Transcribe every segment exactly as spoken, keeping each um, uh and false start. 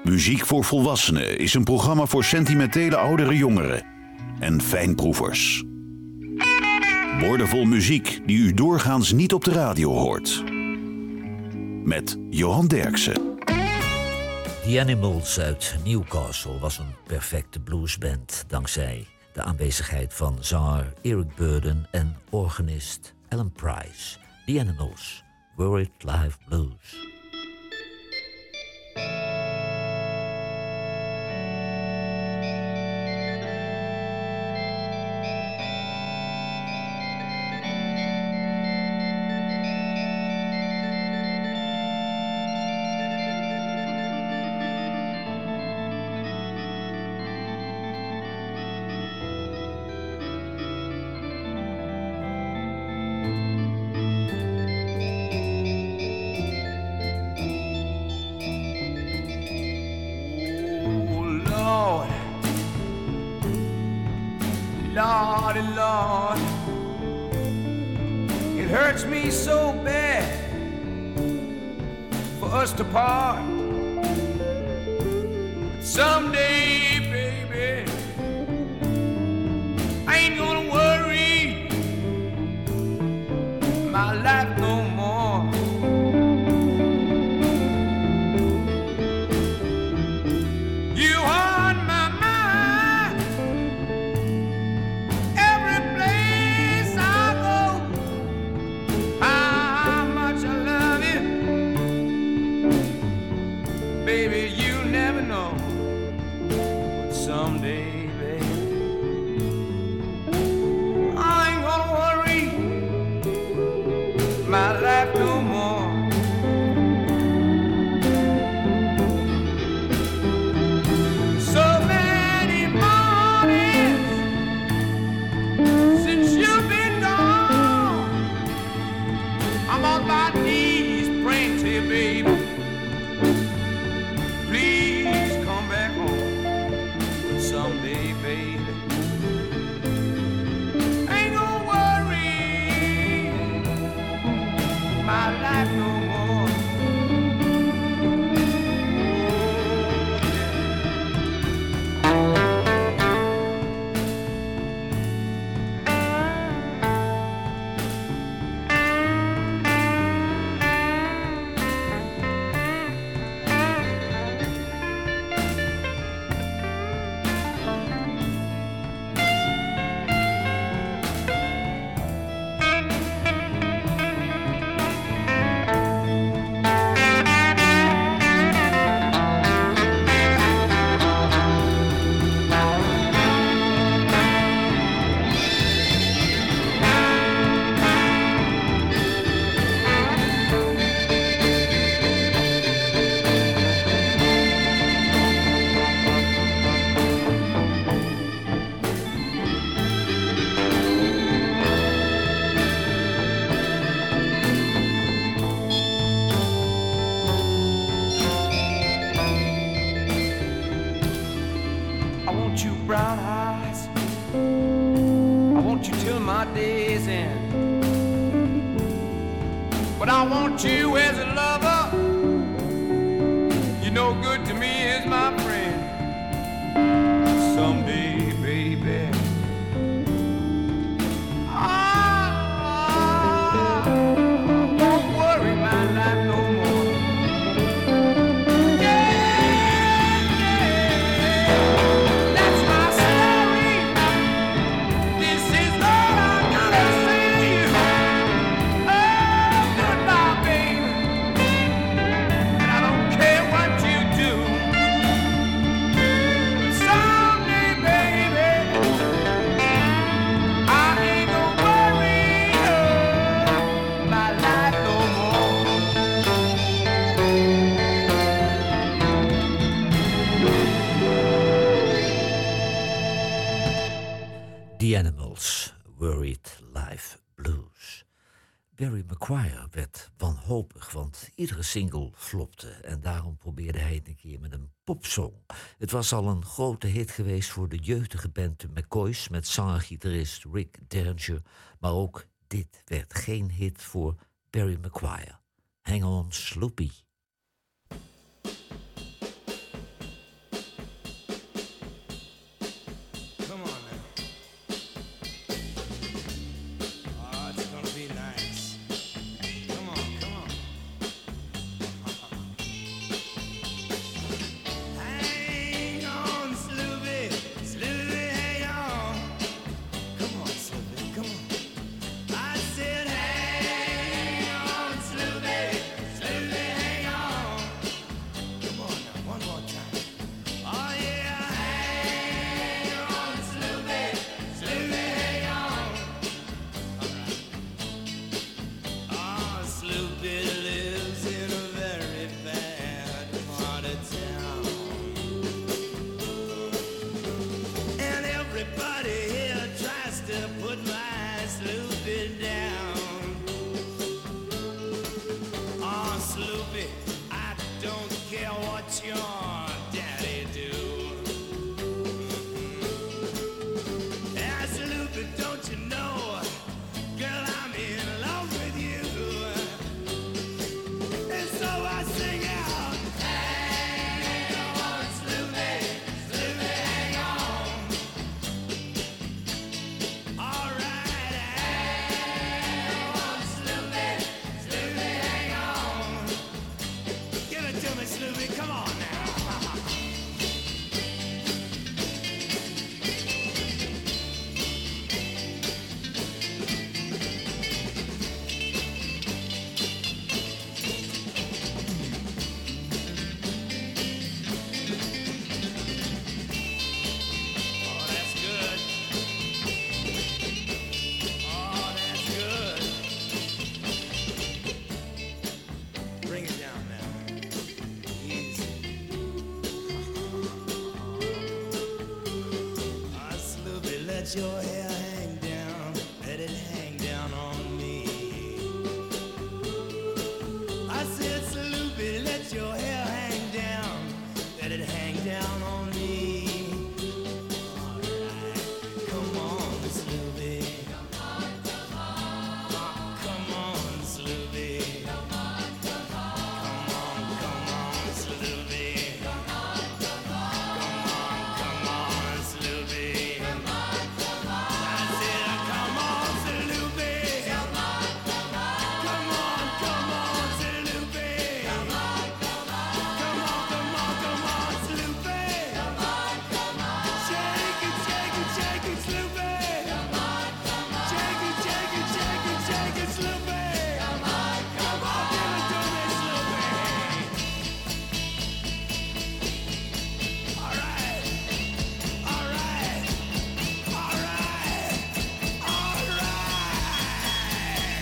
Muziek voor Volwassenen is een programma voor sentimentele oudere jongeren en fijnproevers. Woordenvol muziek die u doorgaans niet op de radio hoort. Met Johan Derksen. The Animals uit Newcastle was een perfecte bluesband dankzij de aanwezigheid van zanger Eric Burdon en organist Alan Price. The Animals, Worried Life Blues. Lordy, Lord, it hurts me so bad for us to part. Someday, baby, I ain't gonna worry my life no more. You on my mind every place I go. How much I love you, baby, you never know. But someday, baby, I ain't gonna worry my life no more. So many mornings since you've been gone, I'm on my knees praying to you, baby. Please come back home someday, baby. Ain't gonna worry my life no more. I want you brown eyes, I want you till my day's end. But I want you as a lover, you're no good to me as my friend. Someday, baby, I won't worry my life no more. Yeah, yeah, that's my story. This is all I gotta say to you. Oh, goodbye, baby. And I don't care what you do. Someday, baby, I ain't gonna worry oh, my life no more. The Animals, Worried Life Blues. Barry McGuire werd wanhopig, want iedere single flopte. En daarom probeerde hij het een keer met een popsong. Het was al een grote hit geweest voor de jeugdige band de McCoys met zanger-gitarist Rick Derringer. Maar ook dit werd geen hit voor Barry McGuire. Hang on, Sloopy. let your hair hang down, let it hang down on me. I said, Sloopy, let your hair hang down, let it hang down on me. All right, come on, Sloopy. Come on, come on. Oh, come on, Sloopy. Come on, come on. Come on, come on, Sloopy. Come on, come on. Come on, come on, Sloopy. Come on, come on. I said, come on, Sloopy. Come on, come on. Come on, come on, Sloopy. Come on, come on. Come on, come on, come on, Sloopy. Come on, come on. Shake it, shake it, shake it, Sloopy. Come on, come on. Shake it, shake it, shake it, shake it, Sloopy. Come on, come on. Give it to me, Sloopy. All right, all right, all right, all right.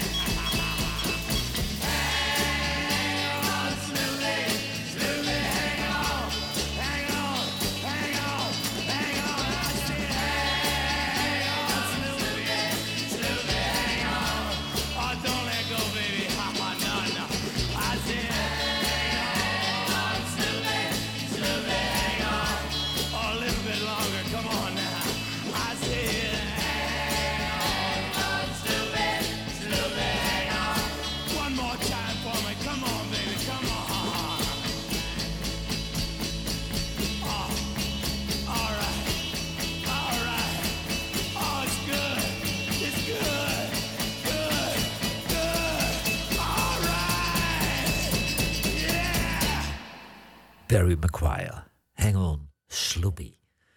Hang on, Sloopy, Sloopy, hang on, hang on, hang on, hang on. I said, hang on, Sloopy, Sloopy, hang on. Oh, don't let go, baby. Ha, ha, no, no. I said, hang on, Sloopy, Sloopy, hang on. Oh, a little bit longer. Come on now. I said, hang on, Sloopy, Sloopy, hang on. One more time for me. Come on, baby. Come on. Oh, all right. All right. Oh, it's good. It's good. Good. Good. All right. Yeah. Barry McGuire, Hang On, Sloopy.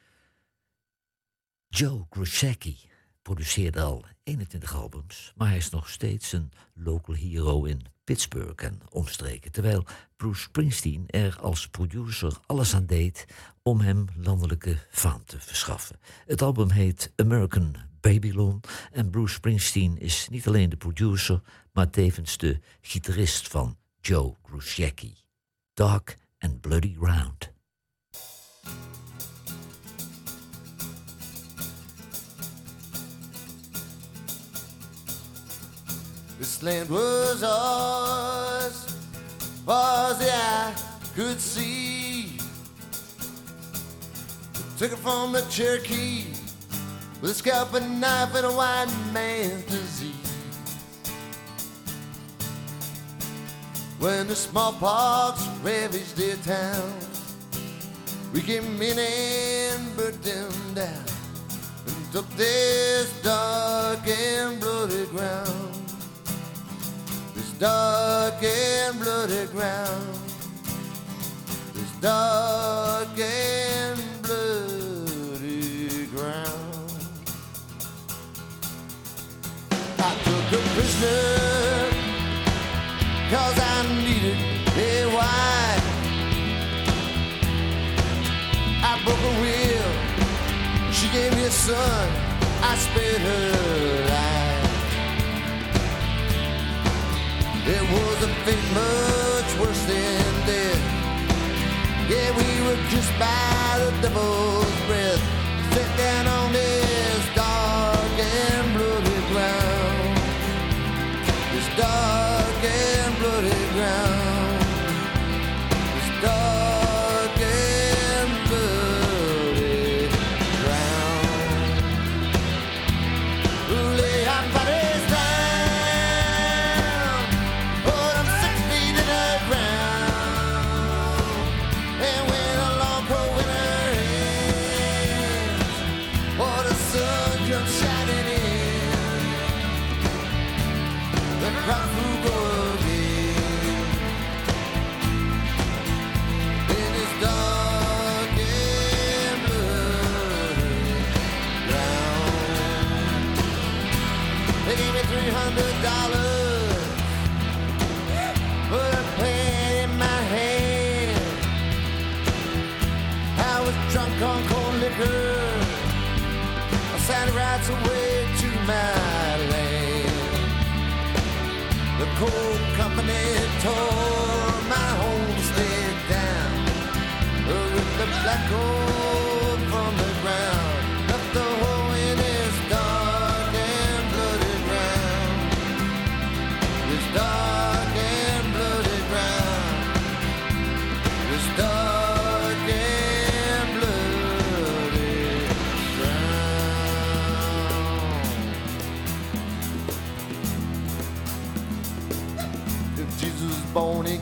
Joe Grusecki produceerde al eenentwintig albums, maar hij is nog steeds een local hero in Pittsburgh en omstreken, terwijl Bruce Springsteen er als producer alles aan deed om hem landelijke faam te verschaffen. Het album heet American Babylon en Bruce Springsteen is niet alleen de producer, maar tevens de gitarist van Joe Grusecki. Dark and Bloody Round. This land was ours, far as the eye could see. Took it from the Cherokee with a scalp and knife and a white man's disease. When the smallpox ravaged their town, we came in and burnt them down and took this dark and bloody ground. This dark and bloody ground. This dark and bloody ground. I took a prisoner 'cause I needed a wife. I broke a will, she gave me a son, I spared her life. It was a fate much worse than death. Yeah, we were kissed by the devil's breath. Set down on this dark and bloody ground. This dark and bloody ground. This dark and bloody ground. Lay our bodies down, put them six feet in the ground, and when a long cold winter ends, oh, the sun comes shining in, the crops will go again in this dark and bloody ground. They gave me three hundred dollars, put a pen in my hand. I was drunk on cold liquor, I signed rights away to my land. The coal company tore my homestead down, ripped the black gold from the ground, left the hole in it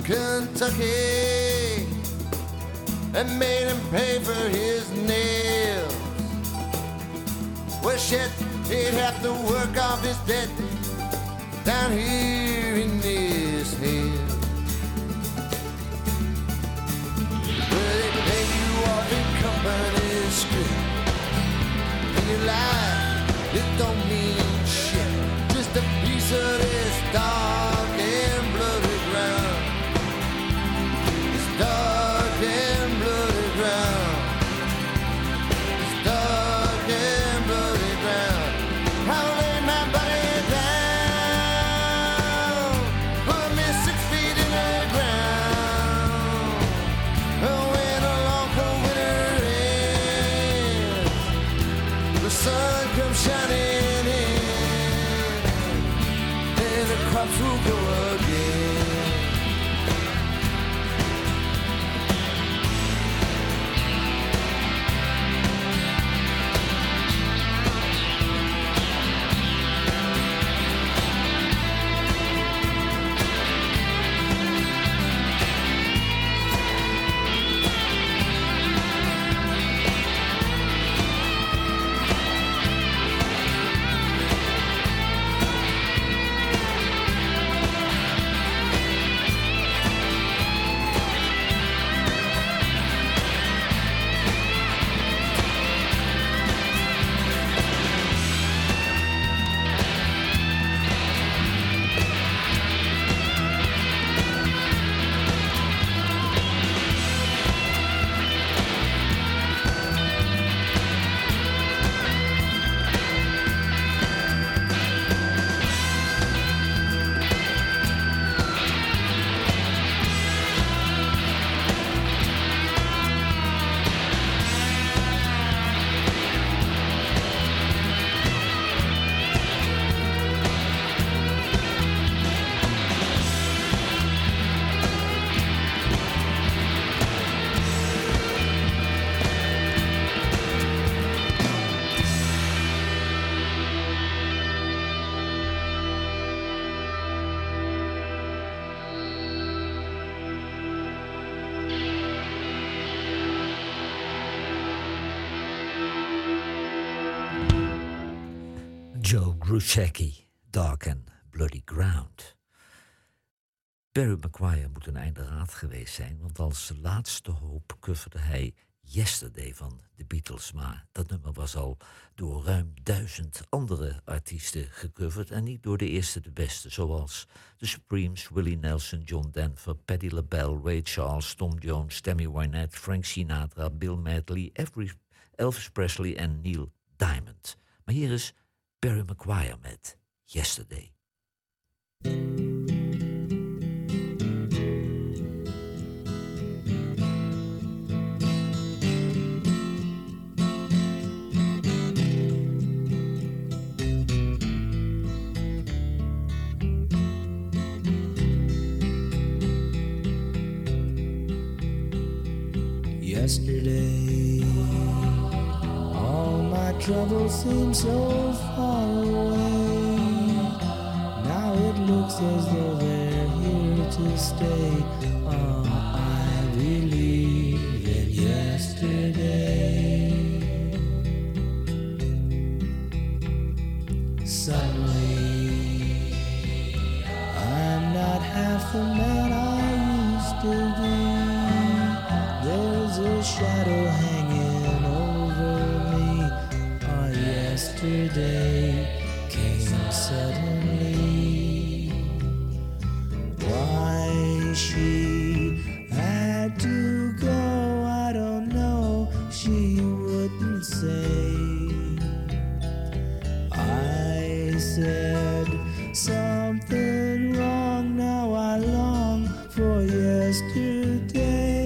Kentucky and made him pay for his nails. Well, shit, he'd have to work off his debt down here in this hell. Well, they pay you off in company script, and your life, it don't mean shit. Just a piece of this dark and bloody ground. This dark and bloody ground. This dark and bloody ground. I'll lay my body down, put me six feet in the ground. When a long cold winter ends, the sun comes shining in, and the crops will go again. Joe Grusecki, Dark and Bloody Ground. Barry McGuire moet een einderaad geweest zijn, want als laatste hoop coverde hij Yesterday van de Beatles. Maar dat nummer was al door ruim duizend andere artiesten gecoverd en niet door de eerste de beste, zoals The Supremes, Willie Nelson, John Denver, Patti LaBelle, Ray Charles, Tom Jones, Tammy Wynette, Frank Sinatra, Bill Medley, Elvis Presley en Neil Diamond. Maar hier is Barry McGuire met Yesterday. Yesterday, all my troubles seem so far away. Now it looks as though they're here to stay. Oh, I believe in yesterday. Suddenly, I'm not half the man I used to be. There's a shadow hanging over me. Oh, yesterday came suddenly. Why she had to go, I don't know. She wouldn't say. I said something wrong. Now I long for yesterday.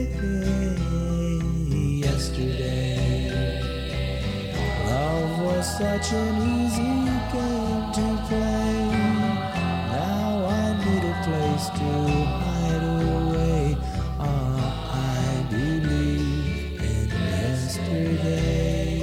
Such an easy game to play. Now I need a place to hide away. Ah, I believe in yesterday.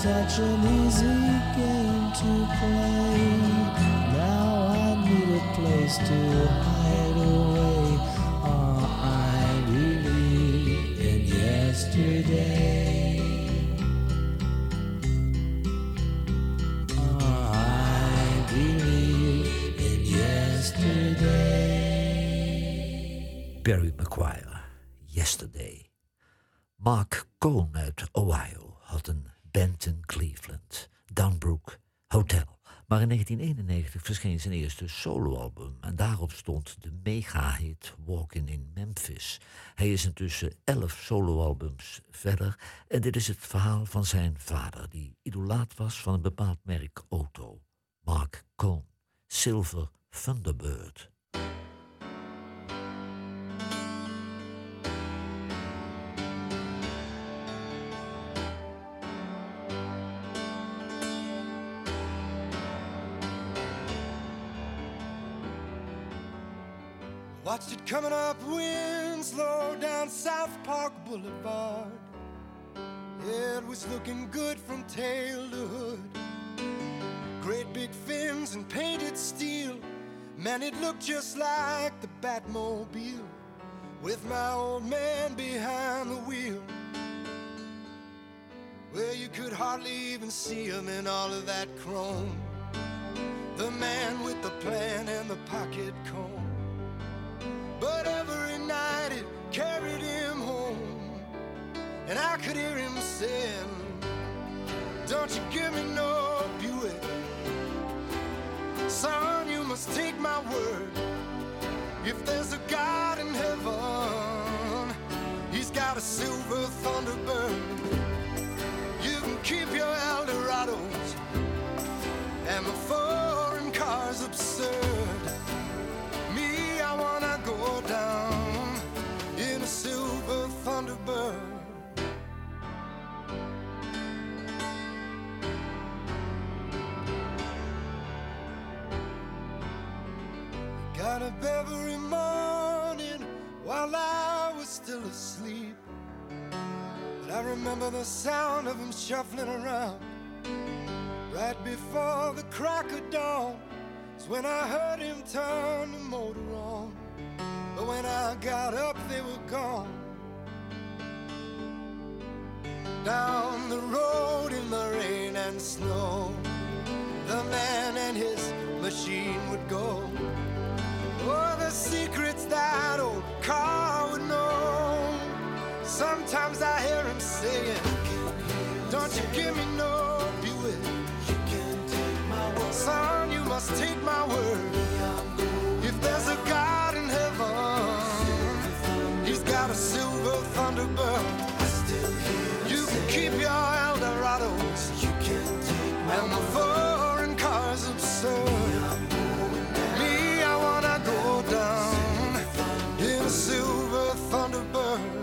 such an easy game to play. Now I need a place to hide away. Are I really in yesterday? Are I really in yesterday? Barry McGuire, Yesterday. Mark Cohn uit Ohio had een band in Cleveland, Downbrook Hotel. Maar in negentien eenennegentig verscheen zijn eerste soloalbum en daarop stond de mega-hit Walking in Memphis. Hij is intussen elf soloalbums verder en dit is het verhaal van zijn vader, die idolaat was van een bepaald merk auto. Mark Cohn, Silver Thunderbird. Watched it coming up Winslow down South Park Boulevard. It was looking good from tail to hood. Great big fins and painted steel. Man, it looked just like the Batmobile, with my old man behind the wheel. Well, you could hardly even see him in all of that chrome. The man with the plan and the pocket comb. But every night it carried him home, and I could hear him saying, don't you give me no Buick. Son, you must take my word. If there's a God in heaven, he's got a silver Thunderbird. You can keep your Eldorados, and the foreign car's absurd. Me, I wanna go down in a silver Thunderbird. Got up every morning while I was still asleep, but I remember the sound of him shuffling around right before the crack of dawn. It's when I heard him turn the motor on, but when I got up they were gone. Down the road in the rain and snow, the man and his machine would go. Oh, the secrets that old car would know. Sometimes I hear him saying, don't you give me no Buick. Son, you must take my word. If there's a God in heaven, he's got a silver Thunderbird. You can keep your Eldorados, and the foreign car's absurd. Me, I wanna go down in a silver Thunderbird.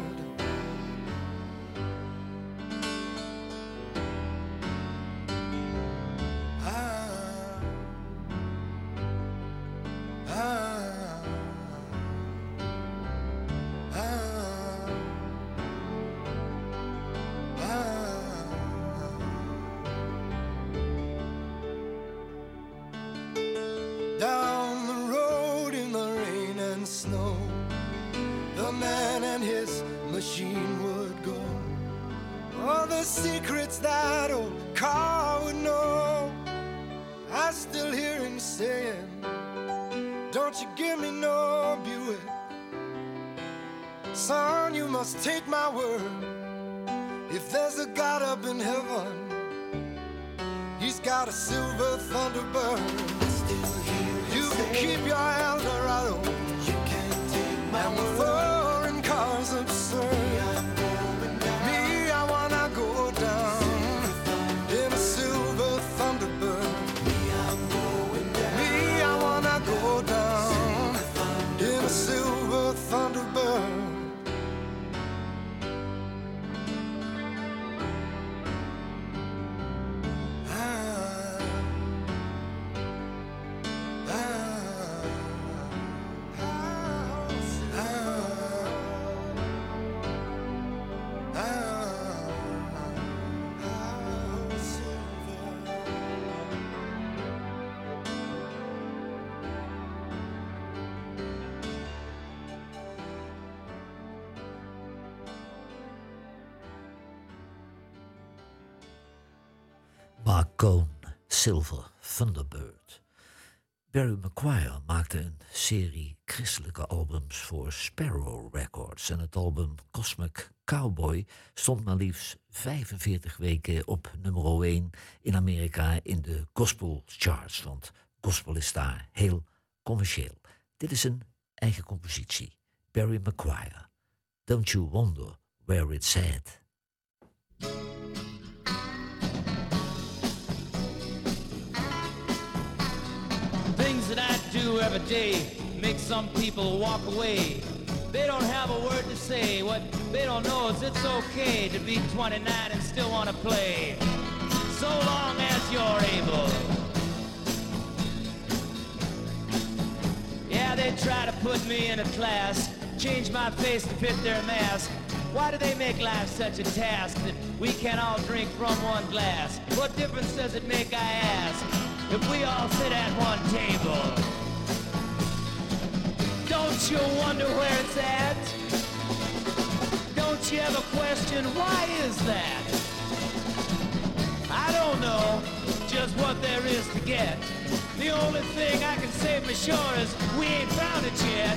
Down the road in the rain and snow, the man and his machine would go. All the secrets that old car would know. I still hear him saying, don't you give me no Buick. Son, you must take my word. If there's a God up in heaven, he's got a silver Thunderbird. You can keep your Eldorado, and the foreign car's absurd. Me, I wanna go down in a silver Thunderbird. Me, I wanna go down in a silver Thunderbird. Ah. Mark Cohn, Silver Thunderbird. Barry McGuire maakte een serie christelijke albums voor Sparrow Records. En het album Cosmic Cowboy stond maar liefst vijfenveertig weken op nummer één in Amerika in de gospel charts. Want gospel is daar heel commercieel. Dit is een eigen compositie. Barry McGuire. Don't you wonder where it's at? Things that I do every day make some people walk away. They don't have a word to say. What they don't know is it's okay to be twenty-nine and still want to play. So long as you're able. Yeah, they try to put me in a class, change my face to fit their mask. Why do they make life such a task that we can't all drink from one glass? What difference does it make, I ask, if we all sit at one table? Don't you wonder where it's at? Don't you ever question why is that? I don't know just what there is to get. The only thing I can say for sure is we ain't found it yet.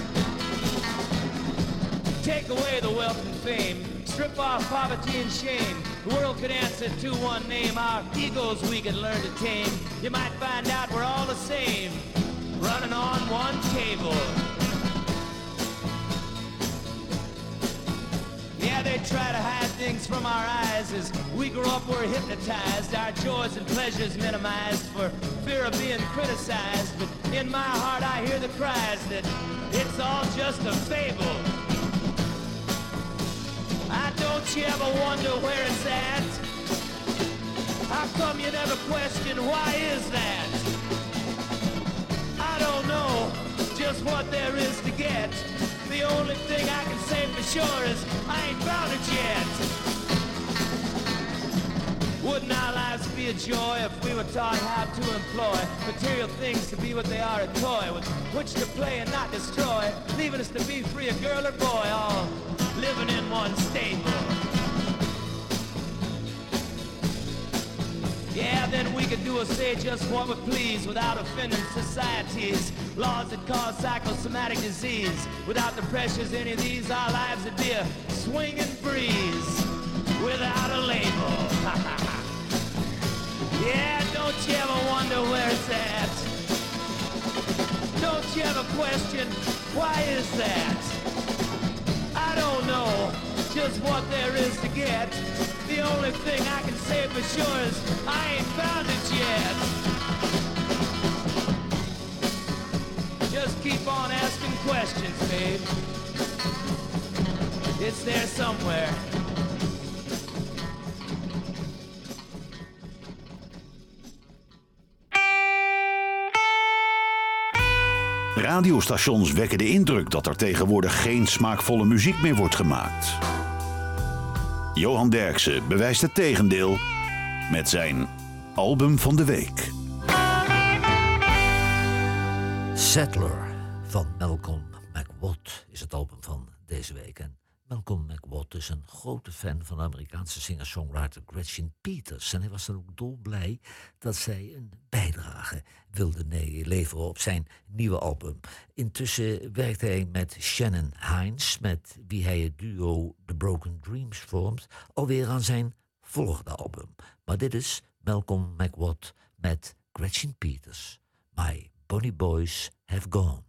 Take away the wealth and fame, strip off poverty and shame. The world could answer to one name, our egos we could learn to tame. You might find out we're all the same, running on one cable. Yeah, they try to hide things from our eyes. As we grow up, we're hypnotized, our joys and pleasures minimized for fear of being criticized. But in my heart I hear the cries that it's all just a fable. I don't you ever wonder where it's at? How come you never question why is that? I don't know just what there is to get. The only thing I can say for sure is I ain't found it yet. Wouldn't our lives be a joy if we were taught how to employ material things to be what they are, a toy with which to play and not destroy, leaving us to be free, a girl or boy, all living in one stable. Yeah, then we could do or say just what we please without offending societies, laws that cause psychosomatic disease. Without the pressures of any of these, our lives would be a swinging breeze without a label. Yeah, don't you ever wonder where it's at? Don't you ever question why is that? I don't know just what there is to get. The only thing I can say for sure is I ain't found it yet. Just keep on asking questions, babe. It's there somewhere. Radiostations wekken de indruk dat er tegenwoordig geen smaakvolle muziek meer wordt gemaakt. Johan Derksen bewijst het tegendeel met zijn album van de week. Settler van Malcolm McWatt is het album van deze week. En Malcolm McWatt is een grote fan van de Amerikaanse singer-songwriter Gretchen Peters. En hij was dan ook dolblij dat zij een bijdrage wilde leveren op zijn nieuwe album. Intussen werkt hij met Shannon Hines, met wie hij het duo The Broken Dreams vormt, alweer aan zijn volgende album. Maar dit is Malcolm McWatt met Gretchen Peters. My Bonnie Boys Have Gone.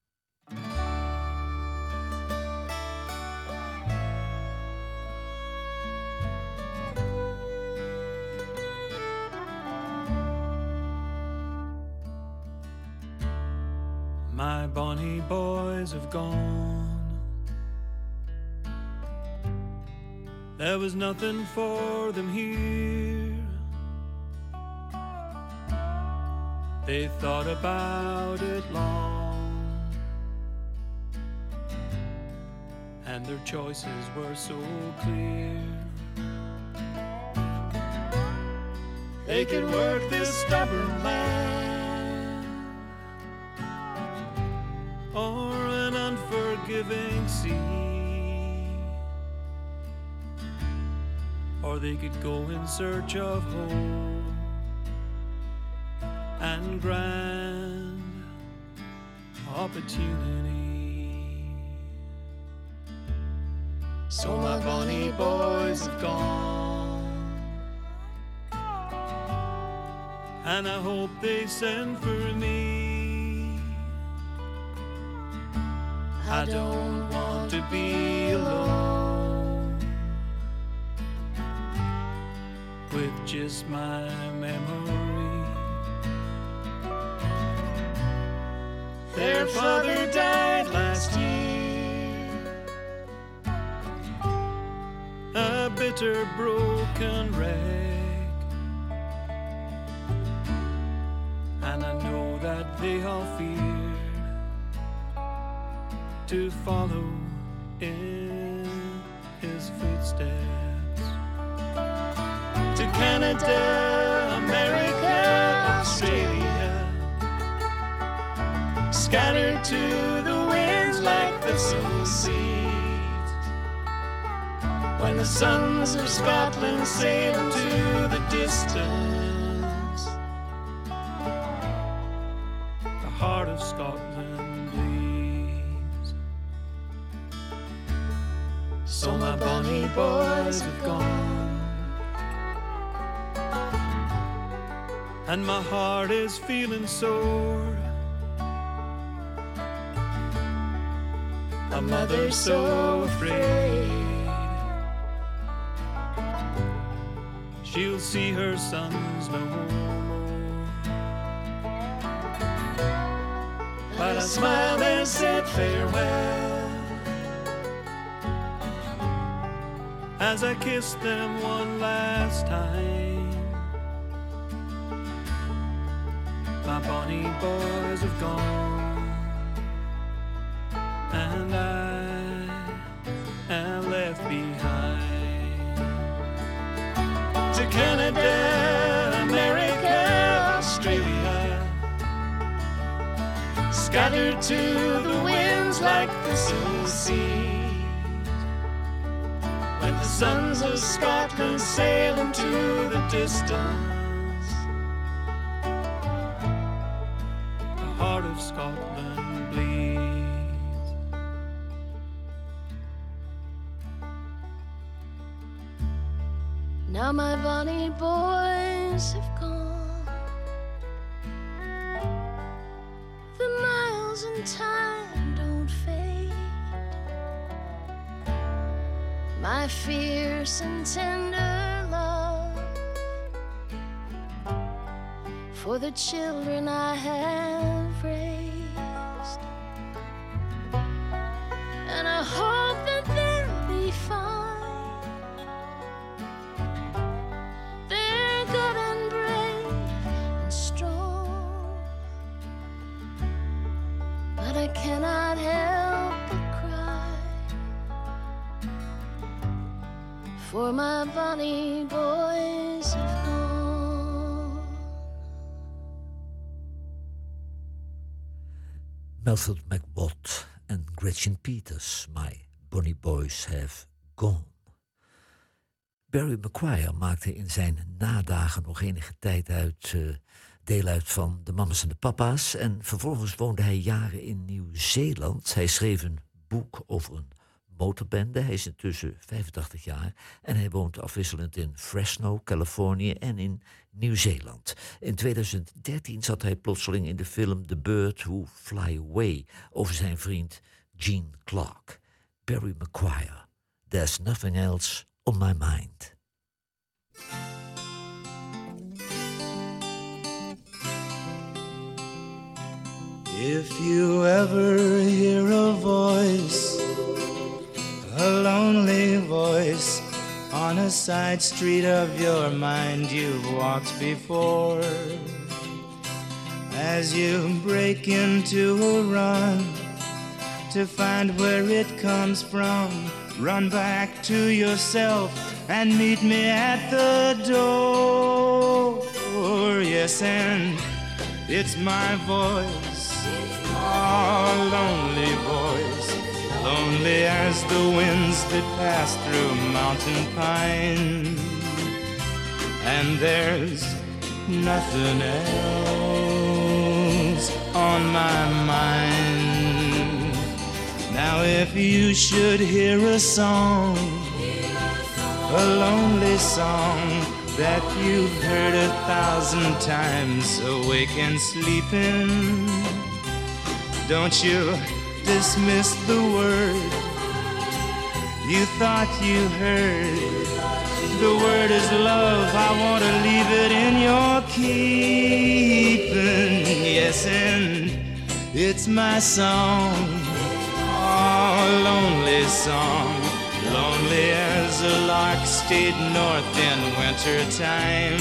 My bonny boys have gone. There was nothing for them here. They thought about it long, and their choices were so clear. They can work this stubborn land, or an unforgiving sea, or they could go in search of hope and grand opportunity. So my bonny boys have gone, and I hope they send for me. I don't want to be alone with just my memory. Their father died last year, a bitter broken wreck, and I know that they all feared to follow in his footsteps. To Canada, America, Australia, scattered to the winds like the seeds. When the sons of Scotland sail into the distance, the heart of Scotland bleeds. So my bonny boys have gone, and my heart is feeling sore. A mother so afraid she'll see her sons no more. But I smiled and said farewell as I kissed them one last time. My bonny boys have gone, and I am left behind. To Canada, America, Australia, scattered to the winds like the seas. When the sons of Scotland sail into the distance, the heart of Scotland bleeds. Now my bonny boys have gone, the miles in time don't fade. My fierce and tender love for the children I have raised, and I hope that they'll be fine. They're good and brave and strong, but I cannot help but cry for my bonny boys have gone. Method McWatt en Gretchen Peters, My Bonny Boys Have Gone. Barry McGuire maakte in zijn nadagen nog enige tijd uit, uh, deel uit van de Mamas en de Papa's. En vervolgens woonde hij jaren in Nieuw-Zeeland. Hij schreef een boek over een motorbende. Hij is intussen vijfentachtig jaar en hij woont afwisselend in Fresno, Californië en in Nieuw-Zeeland. In tweeduizend dertien zat hij plotseling in de film The Bird Who Fly Away over zijn vriend Gene Clark. Barry McGuire, There's Nothing Else on My Mind. If you ever hear a voice, a lonely voice, on a side street of your mind you've walked before, as you break into a run to find where it comes from, run back to yourself and meet me at the door. Yes, and it's my voice, our lonely voice, lonely as the winds that pass through mountain pine. And there's nothing else on my mind. Now if you should hear a song, a lonely song that you've heard a thousand times, awake and sleeping, don't you dismiss the word you thought you heard. The word is love, I want to leave it in your keeping. Yes, and it's my song, oh, lonely song. Lonely as a lark stayed north in winter time,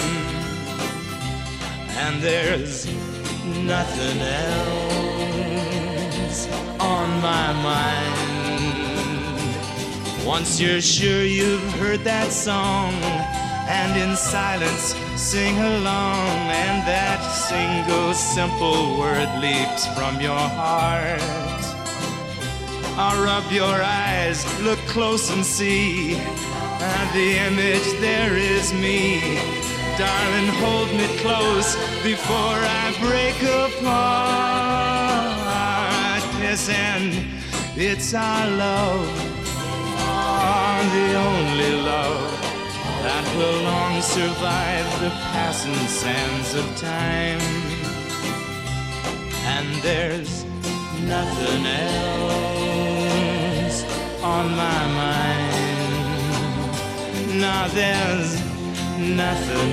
and there's nothing else on my mind. Once you're sure you've heard that song, and in silence sing along, and that single simple word leaps from your heart, I'll rub your eyes, look close and see, and the image there is me. Darling, hold me close before I break apart. Yes, and it's our love, oh, the only love that will long survive the passing sands of time. And there's nothing else on my mind. Now there's nothing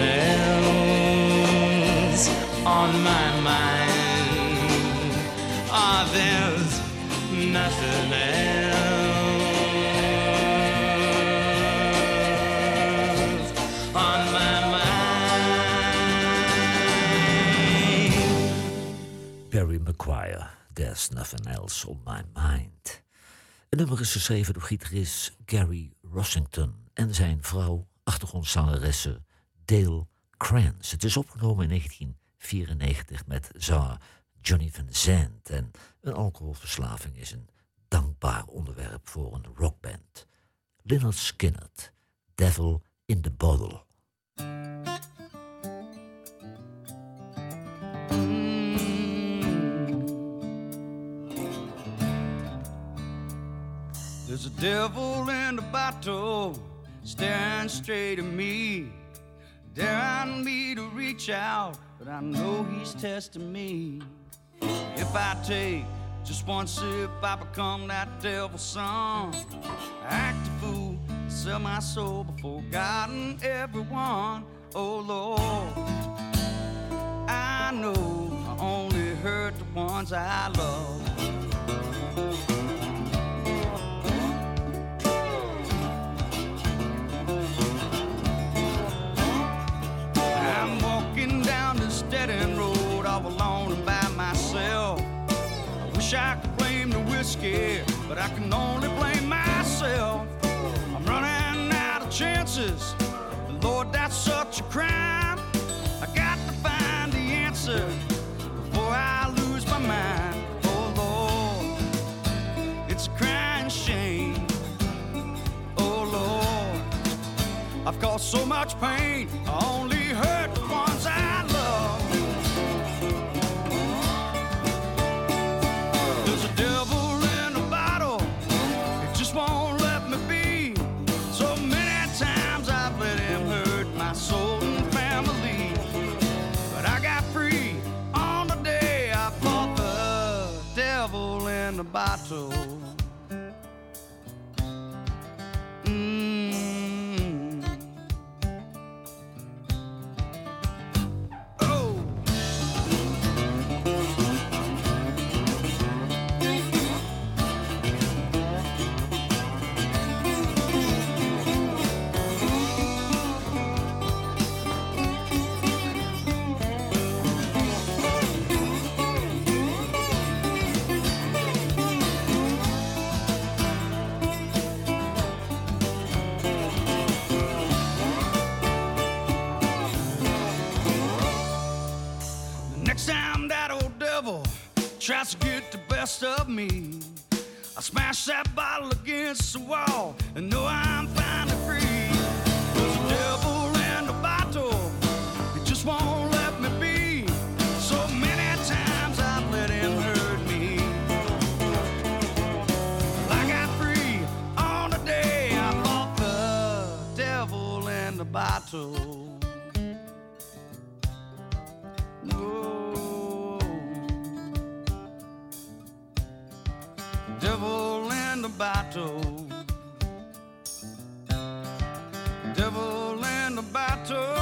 else on my mind. Ah, there's nothing else on my mind. Barry McGuire, There's Nothing Else on My Mind. Het nummer is geschreven door gitarist Gary Rossington en zijn vrouw, achtergrondzangeresse Dale Krantz. Het is opgenomen in negentien vierennegentig met zanger Johnny Van Zandt. En een alcoholverslaving is een dankbaar onderwerp voor een rockband. Lynyrd Skynyrd, Devil in the Bottle. There's a devil in the bottle staring straight at me, daring me to reach out, but I know he's testing me. If I take just one sip, I become that devil's son. I act a fool, sell my soul before God and everyone. Oh Lord, I know I only hurt the ones I love. I'm walking down this dead-end road all alone and by myself. I wish I could blame the whiskey, but I can only blame myself. I'm running out of chances, and Lord, that's such a crime. I got to find the answer before I lose my mind. Oh Lord, it's a crying shame. Oh Lord, I've caused so much pain, I only hurt the ones I love. There's a devil in a bottle, it just won't let me be. So many times I've let him hurt my soul and family, but I got free on the day I fought the devil in the bottle. Tries to get the best of me, I smash that bottle against the wall and know I'm finally free. There's a devil in the bottle, it just won't let me be. So many times I've let him bottle. Oh, devil in the bottle. Devil in the bottle.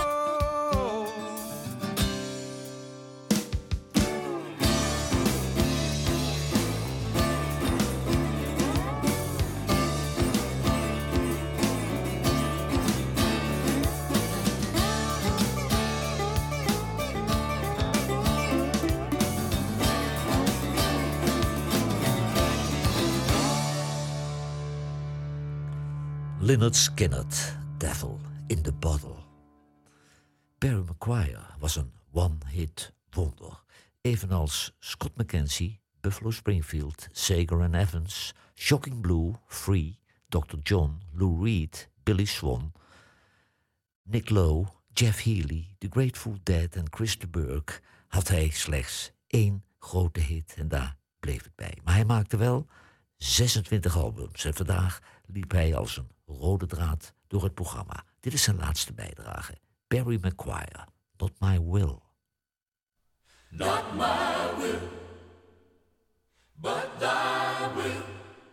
Lynyrd Skynyrd, Devil in the Bottle. Barry McGuire was een one-hit wonder. Evenals Scott McKenzie, Buffalo Springfield, Sager and Evans, Shocking Blue, Free, doctor John, Lou Reed, Billy Swan, Nick Lowe, Jeff Healey, The Grateful Dead en Chris de Burgh had hij slechts één grote hit en daar bleef het bij. Maar hij maakte wel zesentwintig albums en vandaag liep hij als een rode draad door het programma. Dit is zijn laatste bijdrage. Barry McGuire, Not My Will. Not my will, but thy will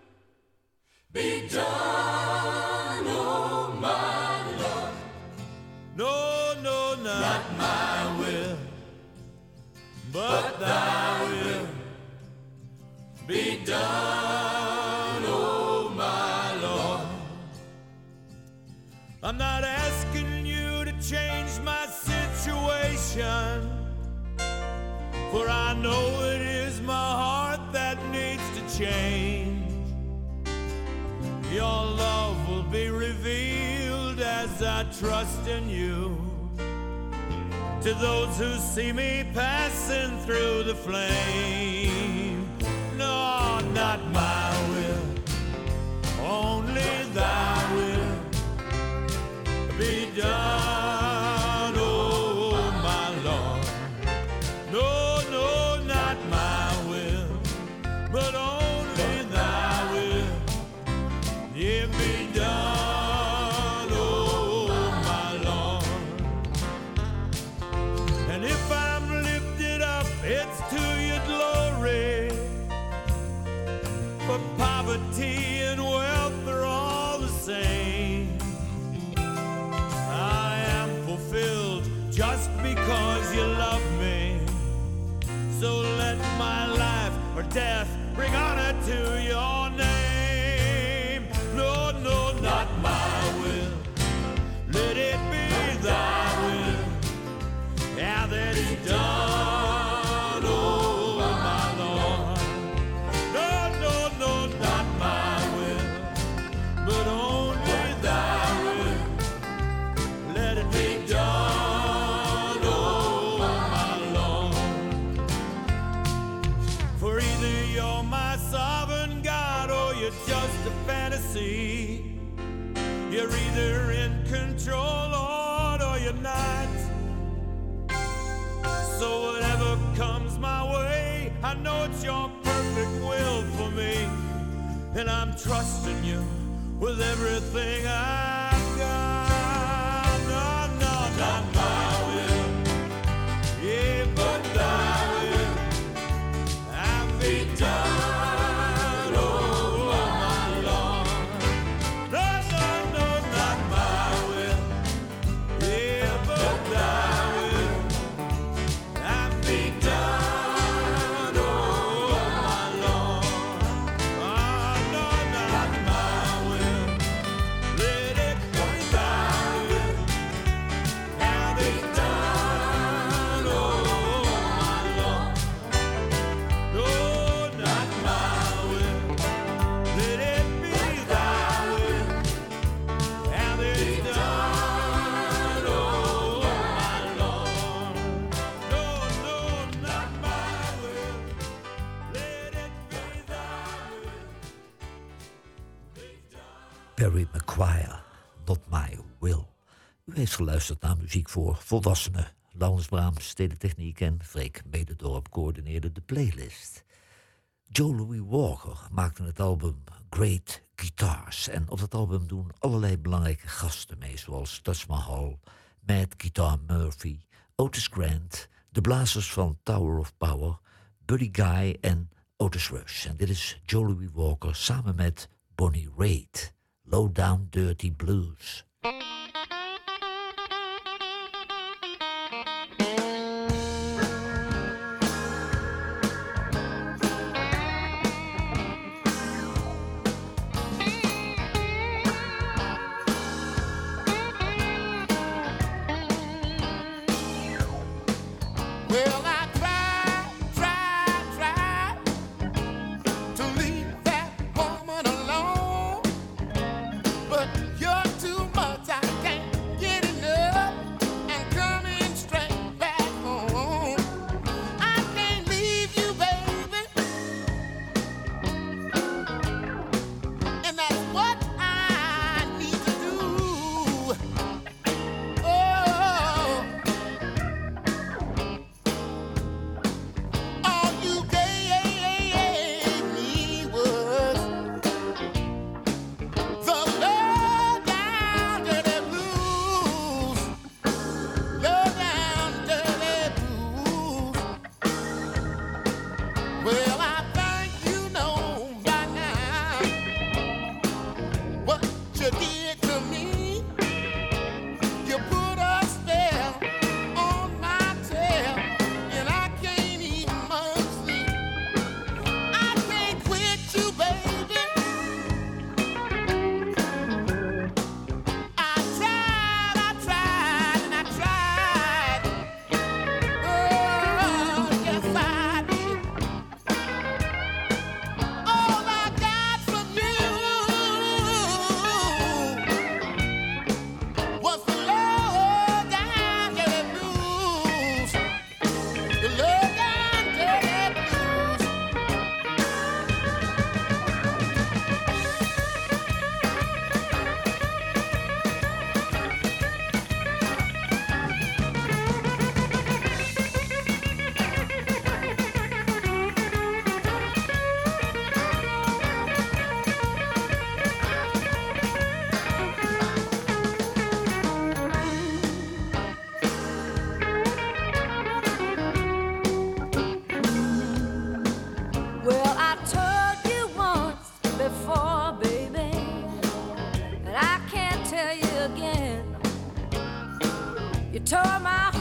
be done, oh my Lord. No, no, not, not my will, but thy will be done, oh my Lord. I'm not asking you to change my situation, for I know it is my heart that needs to change. Your love will be revealed as I trust in you. To those who see me passing through the flame, no, not my will, only thy will be done, oh my Lord. No, no, not my will, but only thy will, yeah, be done, oh my Lord. And if I'm lifted up, it's to your glory, for poverty and wealth are all the same. I am fulfilled just because you love me. So let my life or death bring honor to your name. No, no, not my will. Let it be thy will. Yeah, that it's done, oh my Lord. No, no, no, not my will, but only thy will. Let it be done, oh my Lord. For either you're my sovereign God or you're just a fantasy. You're either in control, Lord, or you're not. So whatever comes my way, I know it's your perfect will for me. And I'm trusting you with everything I've got. No, no, not my will, yeah, but thy will. I'll be done, oh my Lord. No, no, no, not my will, yeah, but thy will. I'll be done, oh my Lord. Ah, no, not my will. Let it be thy will. Have it done, oh my Lord. No, not my will. Let it be thy will. Have it done, oh my Lord. No, no, not my will. Let it be thy will. Be done. Barry McGuire, Not My Will. U heeft geluisterd naar muziek voor volwassenen. Laurens Braams, Stedentechniek en Freek Mededorp coördineerden de playlist. Joe Louis Walker maakte het album Great Guitars. En op dat album doen allerlei belangrijke gasten mee, zoals Taj Mahal Mad Guitar Murphy, Otis Grant, de blazers van Tower of Power, Buddy Guy en Otis Rush. En dit is Joe Louis Walker samen met Bonnie Raitt, Low Down Dirty Blues. Well, I tried, tried, tried to leave that woman alone, but you're too much, I can't get enough, and coming straight back home. I can't leave you, baby, and that's what I need to do. Oh, all you gave me was the low down dirty blues, low down dirty blues. Well, I think you know by now what you did to me. You put a spell on my tail, and I can't even much sleep. I can't quit you, baby. I tried, I tried, and I tried. Oh, yes, I did. All I got from you was the low down dirty blues, the low down dirty blues. Well, I told you once before, baby, and I can't tell you again. You tore my